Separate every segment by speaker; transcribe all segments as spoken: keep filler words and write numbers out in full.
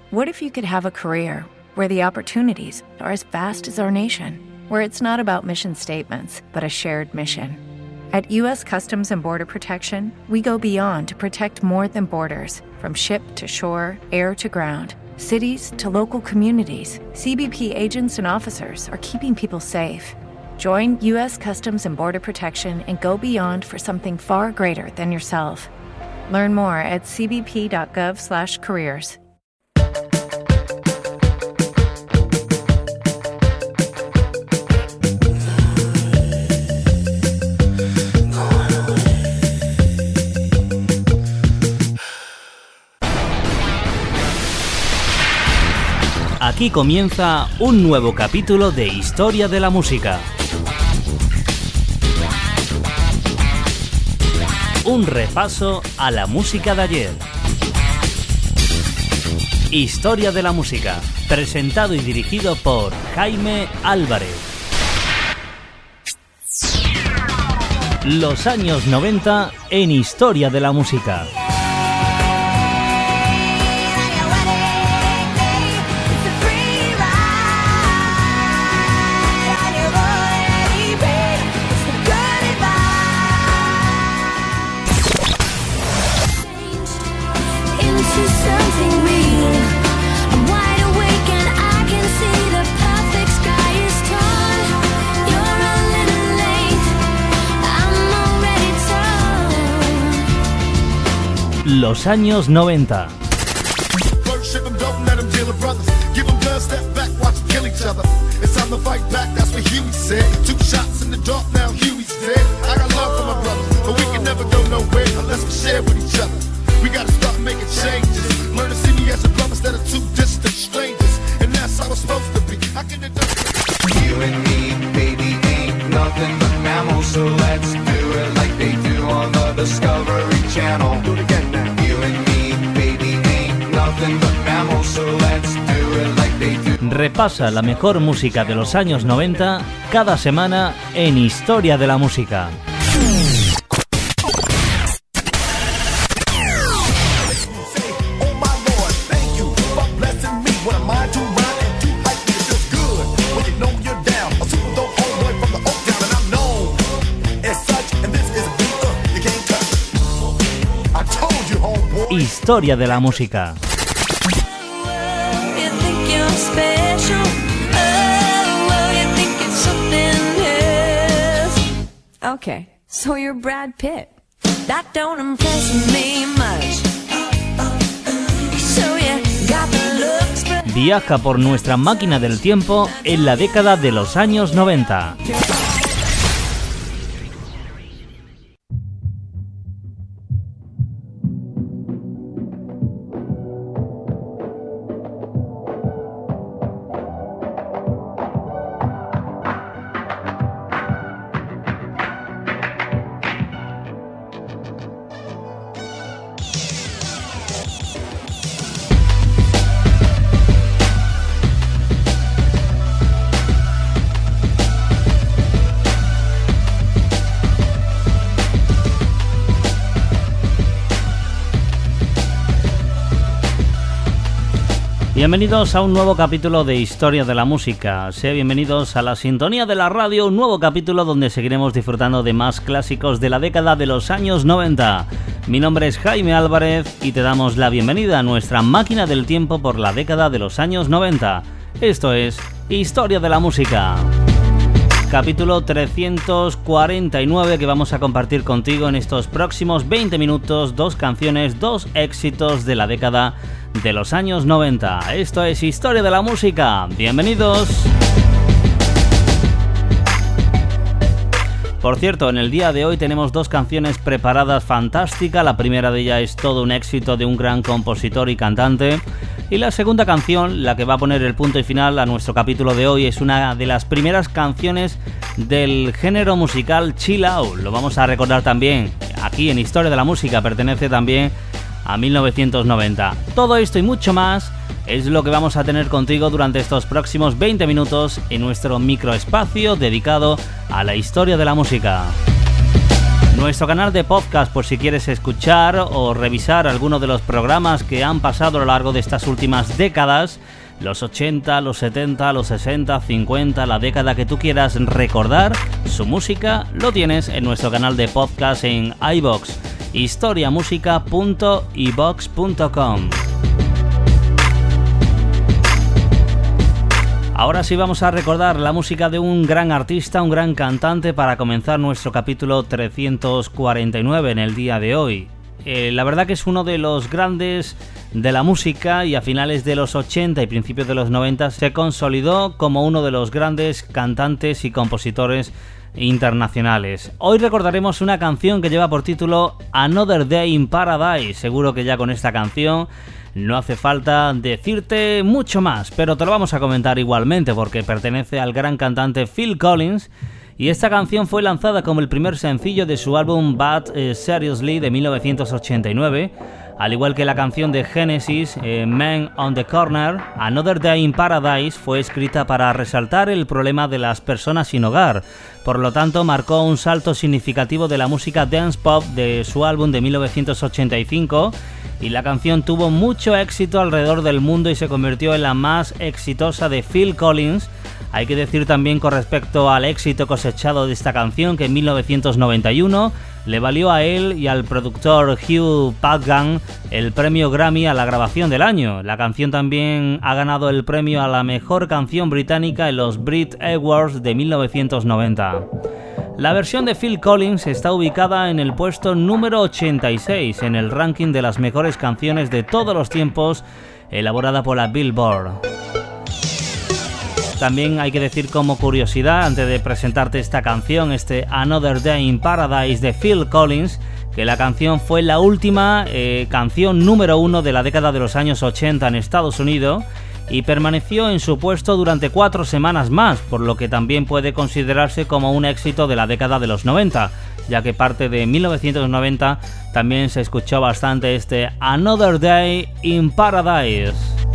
Speaker 1: What if you could have a career where the opportunities are as vast as our nation, where it's not about mission statements, but a shared mission? At U S Customs and Border Protection, we go beyond to protect more than borders. From ship to shore, air to ground, cities to local communities, C B P agents and officers are keeping people safe. Join U S Customs and Border Protection and go beyond for something far greater than yourself. Learn more at c b p dot gov slash careers.
Speaker 2: Aquí comienza un nuevo capítulo de Historia de la Música. Un repaso a la música de ayer. Historia de la Música, presentado y dirigido por Jaime Álvarez. Los años noventa en Historia de la Música. Los años noventa. Repasa la mejor música de los años noventa cada semana en Historia de la Música. Historia de la Música.
Speaker 3: Okay, so you're Brad Pitt. That don't impress me much. So you got the looks, but...
Speaker 2: Viaja por nuestra máquina del tiempo en la década de los años noventa. Bienvenidos a un nuevo capítulo de Historia de la Música. Sean bienvenidos a la sintonía de la radio, un nuevo capítulo donde seguiremos disfrutando de más clásicos de la década de los años noventa. Mi nombre es Jaime Álvarez y te damos la bienvenida a nuestra máquina del tiempo por la década de los años noventa. Esto es Historia de la Música. Capítulo trescientos cuarenta y nueve que vamos a compartir contigo en estos próximos veinte minutos, dos canciones, dos éxitos de la década de los años noventa. Esto es Historia de la Música. Bienvenidos. Por cierto, en el día de hoy tenemos dos canciones preparadas fantásticas. La primera de ellas es todo un éxito de un gran compositor y cantante. Y la segunda canción, la que va a poner el punto y final a nuestro capítulo de hoy, es una de las primeras canciones del género musical chill out. Lo vamos a recordar también aquí en Historia de la Música, pertenece también a mil novecientos noventa. Todo esto y mucho más es lo que vamos a tener contigo durante estos próximos veinte minutos en nuestro microespacio dedicado a la historia de la música. Nuestro canal de podcast por si quieres escuchar o revisar algunos de los programas que han pasado a lo largo de estas últimas décadas, los ochenta, los setenta, los sesenta, cincuenta, la década que tú quieras recordar, su música lo tienes en nuestro canal de podcast en iVoox, historiamusica punto ivox punto com. Ahora sí vamos a recordar la música de un gran artista, un gran cantante para comenzar nuestro capítulo trescientos cuarenta y nueve en el día de hoy. Eh, la verdad que es uno de los grandes de la música y a finales de los ochenta y principios de los noventa se consolidó como uno de los grandes cantantes y compositores internacionales. Hoy recordaremos una canción que lleva por título Another Day in Paradise. Seguro que ya con esta canción no hace falta decirte mucho más, pero te lo vamos a comentar igualmente porque pertenece al gran cantante Phil Collins y esta canción fue lanzada como el primer sencillo de su álbum But uh, Seriously de mil novecientos ochenta y nueve. Al igual que la canción de Genesis, eh, Man on the Corner, Another Day in Paradise fue escrita para resaltar el problema de las personas sin hogar. Por lo tanto, marcó un salto significativo de la música dance pop de su álbum de mil novecientos ochenta y cinco y la canción tuvo mucho éxito alrededor del mundo y se convirtió en la más exitosa de Phil Collins. Hay que decir también con respecto al éxito cosechado de esta canción que en mil novecientos noventa y uno le valió a él y al productor Hugh Padgham el premio Grammy a la grabación del año. La canción también ha ganado el premio a la mejor canción británica en los Brit Awards de mil novecientos noventa. La versión de Phil Collins está ubicada en el puesto número ochenta y seis en el ranking de las mejores canciones de todos los tiempos elaborada por la Billboard. También hay que decir como curiosidad, antes de presentarte esta canción, este Another Day in Paradise de Phil Collins, que la canción fue la última eh, canción número uno de la década de los años ochenta en Estados Unidos y permaneció en su puesto durante cuatro semanas más, por lo que también puede considerarse como un éxito de la década de los noventa, ya que parte de mil novecientos noventa también se escuchó bastante este Another Day in Paradise.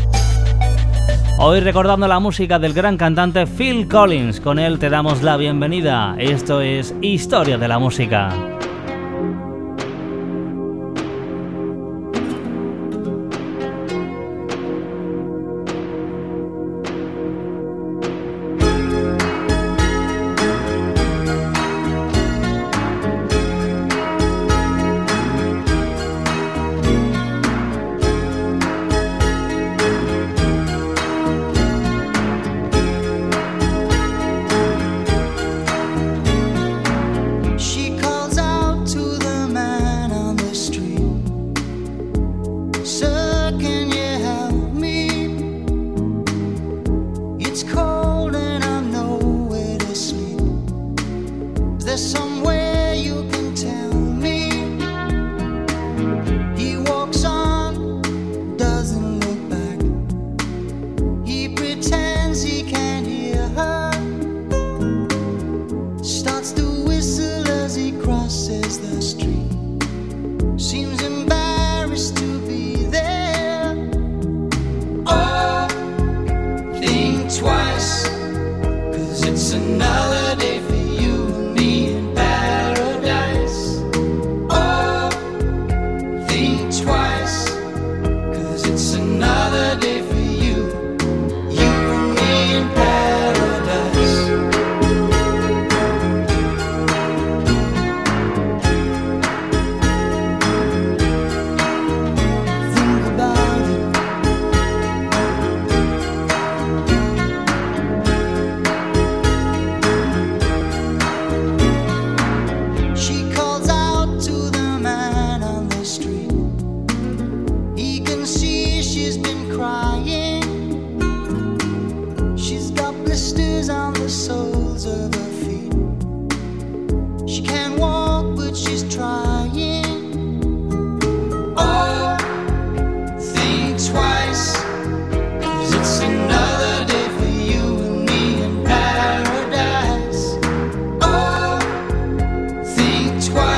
Speaker 2: Hoy recordando la música del gran cantante Phil Collins, con él te damos la bienvenida. Esto es Historia de la Música.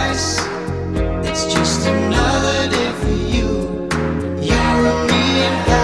Speaker 4: It's just another day for you, you and me.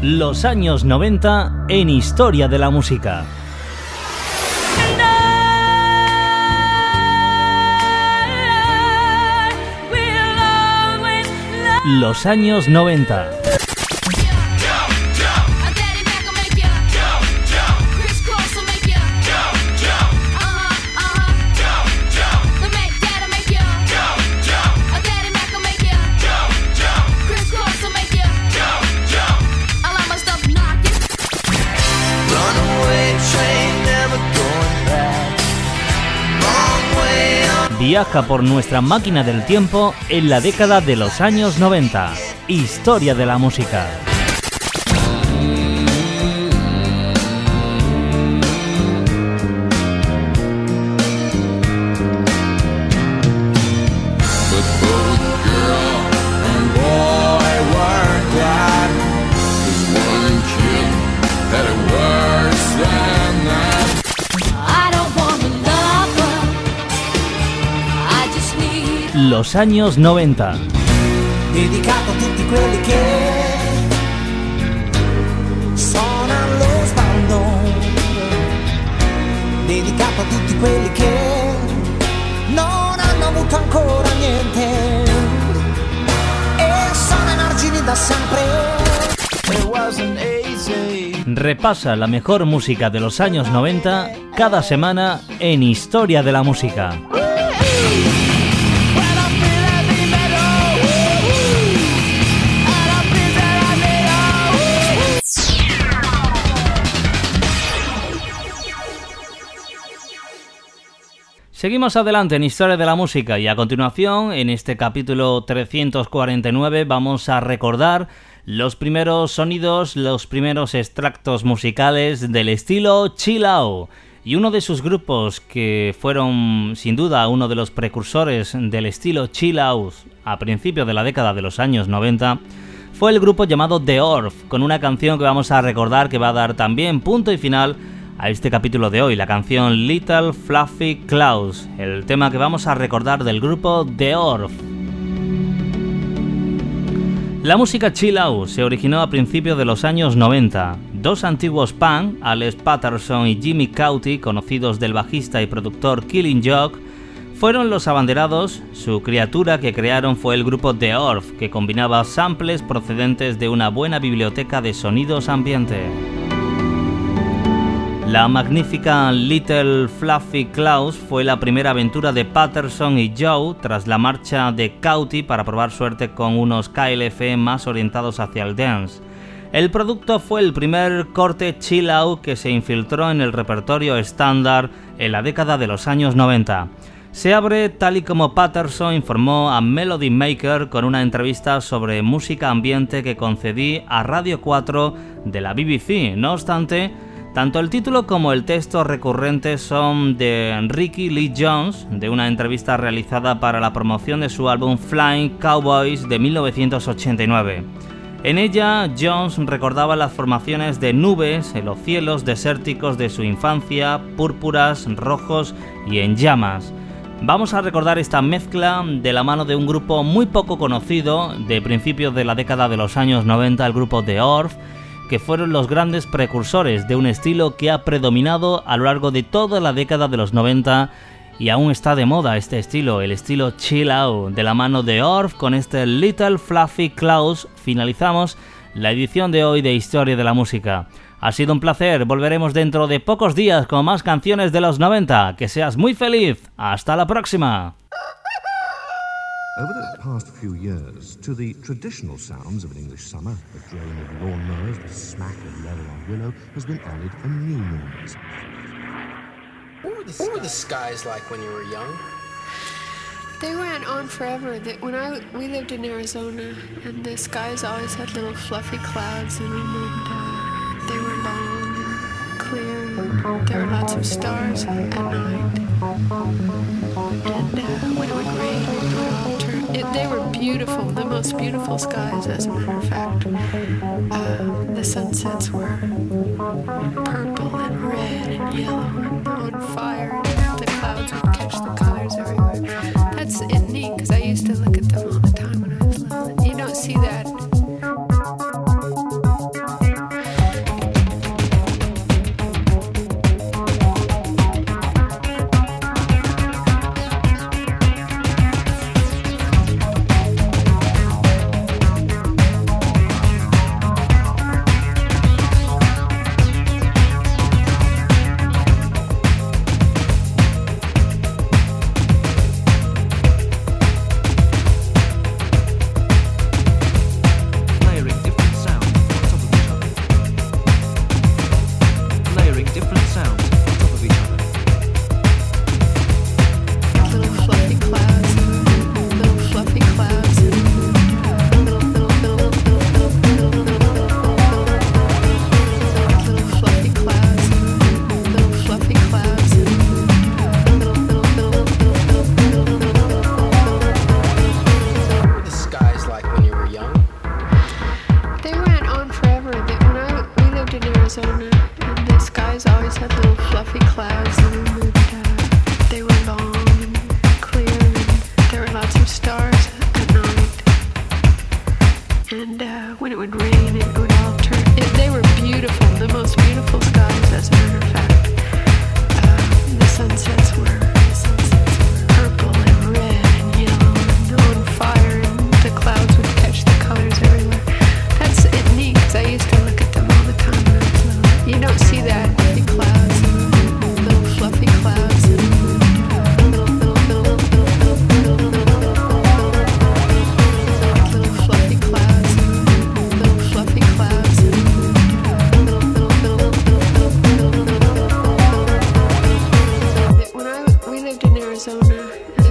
Speaker 2: Los años noventa en Historia de la Música. Los años noventa. Viaja por nuestra máquina del tiempo en la década de los años noventa. Historia de la música. Los años noventa.
Speaker 4: Dedicato a tutti quelli che sono allo sbando, dedicato a tutti quelli che non hanno avuto ancora niente e sono emargini da sempre. It wasn't easy.
Speaker 2: Repasa la mejor música de los años noventa cada semana en Historia de la Música. Seguimos adelante en Historia de la Música y a continuación, en este capítulo trescientos cuarenta y nueve, vamos a recordar los primeros sonidos, los primeros extractos musicales del estilo chill out. Y uno de sus grupos que fueron, sin duda, uno de los precursores del estilo chill out a principios de la década de los años noventa, fue el grupo llamado The Orff, con una canción que vamos a recordar que va a dar también punto y final a este capítulo de hoy, la canción Little Fluffy Clouds, el tema que vamos a recordar del grupo The Orff. La música chill out se originó a principios de los años noventa. Dos antiguos punk, Alex Patterson y Jimmy Cauty, conocidos del bajista y productor Killing Joke, fueron los abanderados. Su criatura que crearon fue el grupo The Orff, que combinaba samples procedentes de una buena biblioteca de sonidos ambiente. La magnífica Little Fluffy Clouds fue la primera aventura de Patterson y Joe tras la marcha de Cauty para probar suerte con unos K L F más orientados hacia el dance. El producto fue el primer corte chill out que se infiltró en el repertorio estándar en la década de los años noventa. Se abre tal y como Patterson informó a Melody Maker con una entrevista sobre música ambiente que concedí a Radio cuatro de la B B C. No obstante, tanto el título como el texto recurrente son de Ricky Lee Jones, de una entrevista realizada para la promoción de su álbum Flying Cowboys de mil novecientos ochenta y nueve. En ella, Jones recordaba las formaciones de nubes en los cielos desérticos de su infancia, púrpuras, rojos y en llamas. Vamos a recordar esta mezcla de la mano de un grupo muy poco conocido de principios de la década de los años noventa, el grupo The Orff, que fueron los grandes precursores de un estilo que ha predominado a lo largo de toda la década de los noventa y aún está de moda este estilo, el estilo chill out. De la mano de Orff, con este Little Fluffy Clouds, finalizamos la edición de hoy de Historia de la Música. Ha sido un placer, volveremos dentro de pocos días con más canciones de los noventa. Que seas muy feliz, hasta la próxima.
Speaker 5: Over the past few years, to the traditional sounds of an English summer, the drone of lawnmowers, the smack of leather on willow, has been added a new noise.
Speaker 6: What were, the, what were the skies like when you were young?
Speaker 7: They went on forever. They, when I we lived in Arizona, and the skies always had little fluffy clouds in them, and uh, they were long and clear. And there were lots of stars at night, and uh, when it would rain, it would all turn. It, they were beautiful, the most beautiful skies, as a matter of fact. Uh, the sunsets were purple and red and yellow and on fire. And the clouds would catch the colors everywhere. That's neat, because I used to look at them all the time when I was little. You don't see that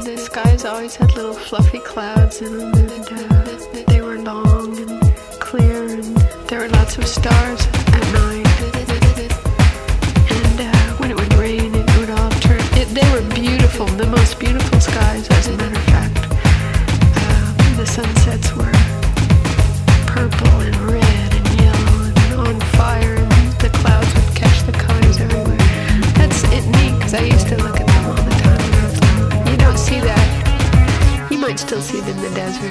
Speaker 7: the skies always had little fluffy clouds in them, and uh, they were long and clear, and there were lots of stars at night. And uh, when it would rain, it would all turn. It, they were beautiful, the most beautiful skies, as a matter of fact. Uh, the sunsets were purple and red and yellow and on fire, and the clouds would catch the colors everywhere. That's it neat, because I used to look at them all the time when I was little. You don't see that. You might still see them in the desert.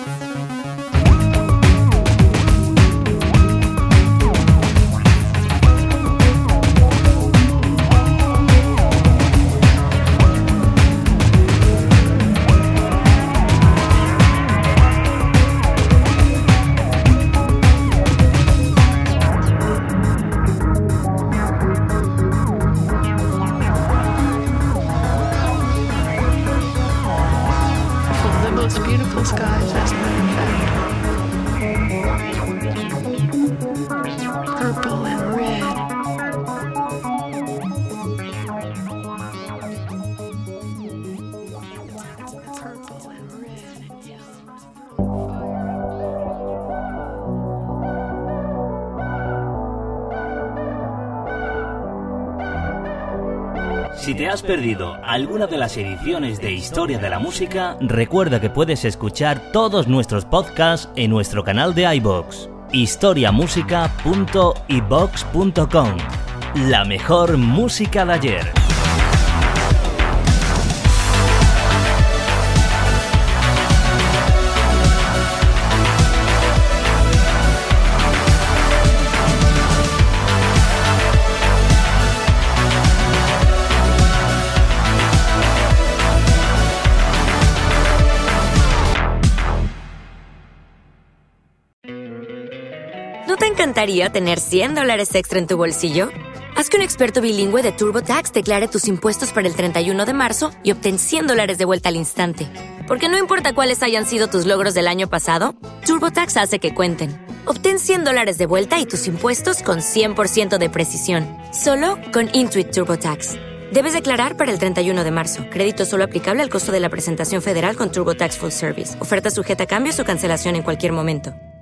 Speaker 2: Si te has perdido alguna de las ediciones de Historia de la Música, recuerda que puedes escuchar todos nuestros podcasts en nuestro canal de iVoox, historiamusica punto ivox punto com. La mejor música de ayer.
Speaker 8: ¿No te encantaría tener cien dólares extra en tu bolsillo? Haz que un experto bilingüe de TurboTax declare tus impuestos para el treinta y uno de marzo y obtén cien dólares de vuelta al instante. Porque no importa cuáles hayan sido tus logros del año pasado, TurboTax hace que cuenten. Obtén cien dólares de vuelta y tus impuestos con cien por ciento de precisión. Solo con Intuit TurboTax. Debes declarar para el treinta y uno de marzo. Crédito solo aplicable al costo de la presentación federal con TurboTax Full Service. Oferta sujeta a cambios o cancelación en cualquier momento.